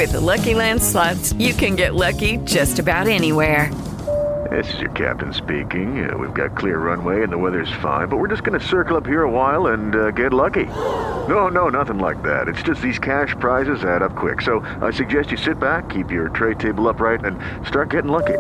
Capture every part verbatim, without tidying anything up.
With Lucky Land Slots, you can get lucky just about anywhere. This is your captain speaking. Uh, we've got clear runway and the weather's fine, but we're just going to circle up here a while and uh, get lucky. No, no, nothing like that. It's just these cash prizes add up quick. So I suggest you sit back, keep your tray table upright, and start getting lucky.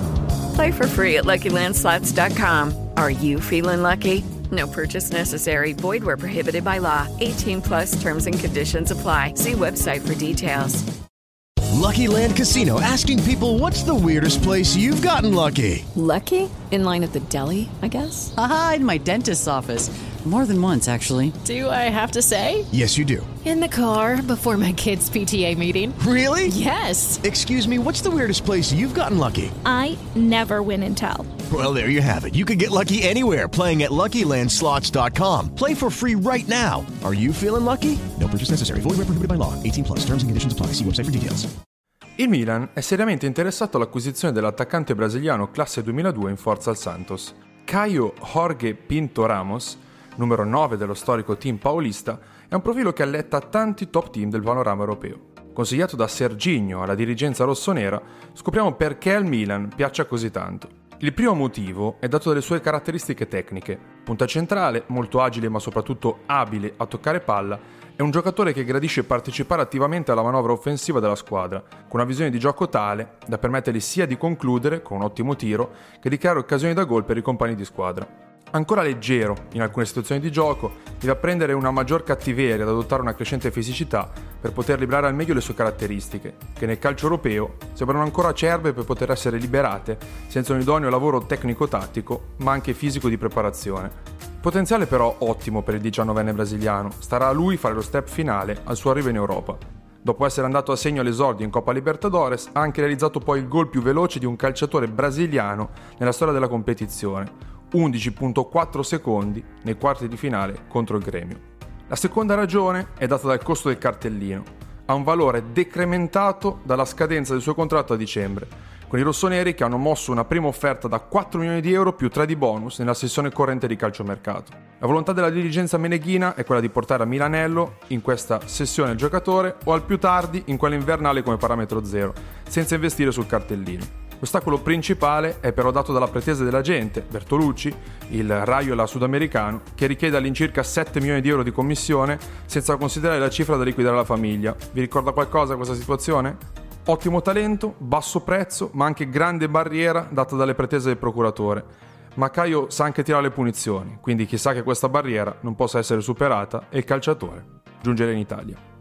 Play for free at Lucky Land Slots dot com. Are you feeling lucky? No purchase necessary. Void where prohibited by law. eighteen plus terms and conditions apply. See website for details. Lucky Land Casino, asking people, what's the weirdest place you've gotten lucky? Lucky? In line at the deli, I guess? Aha, in my dentist's office. More than once, actually. Do I have to say? Yes, you do. In the car before my kids' P T A meeting. Really? Yes. Excuse me, what's the weirdest place you've gotten lucky? I never win and tell. Well, there you have it. You can get lucky anywhere, playing at Lucky Land Slots dot com. Play for free right now. Are you feeling lucky? No purchase necessary. Void where prohibited by law. eighteen plus. Terms and conditions apply. See website for details. Il Milan è seriamente interessato all'acquisizione dell'attaccante brasiliano classe duemiladue in forza al Santos. Caio Jorge Pinto Ramos, numero nove dello storico team paulista, è un profilo che alletta tanti top team del panorama europeo. Consigliato da Serginho alla dirigenza rossonera, scopriamo perché al Milan piaccia così tanto. Il primo motivo è dato dalle sue caratteristiche tecniche. Punta centrale, molto agile ma soprattutto abile a toccare palla, è un giocatore che gradisce partecipare attivamente alla manovra offensiva della squadra, con una visione di gioco tale da permettergli sia di concludere con un ottimo tiro che di creare occasioni da gol per i compagni di squadra. Ancora leggero in alcune situazioni di gioco, deve apprendere una maggior cattiveria ed adottare una crescente fisicità per poter librare al meglio le sue caratteristiche, che nel calcio europeo sembrano ancora acerbe per poter essere liberate senza un idoneo lavoro tecnico-tattico, ma anche fisico di preparazione. Potenziale però ottimo per il diciannovenne brasiliano, starà a lui fare lo step finale al suo arrivo in Europa. Dopo essere andato a segno all'esordio in Coppa Libertadores, ha anche realizzato poi il gol più veloce di un calciatore brasiliano nella storia della competizione, undici virgola quattro secondi nei quarti di finale contro il Gremio. La seconda ragione è data dal costo del cartellino. Ha un valore decrementato dalla scadenza del suo contratto a dicembre, con i rossoneri che hanno mosso una prima offerta da quattro milioni di euro più tre di bonus nella sessione corrente di calciomercato. La volontà della dirigenza meneghina è quella di portare a Milanello in questa sessione il giocatore o al più tardi in quella invernale come parametro zero, senza investire sul cartellino. L'ostacolo principale è però dato dalla pretesa dell'agente, Bertolucci, il Raiola sudamericano, che richiede all'incirca sette milioni di euro di commissione senza considerare la cifra da liquidare alla famiglia. Vi ricorda qualcosa questa situazione? Ottimo talento, basso prezzo, ma anche grande barriera data dalle pretese del procuratore. Ma Caio sa anche tirare le punizioni, quindi chissà che questa barriera non possa essere superata e il calciatore giungere in Italia.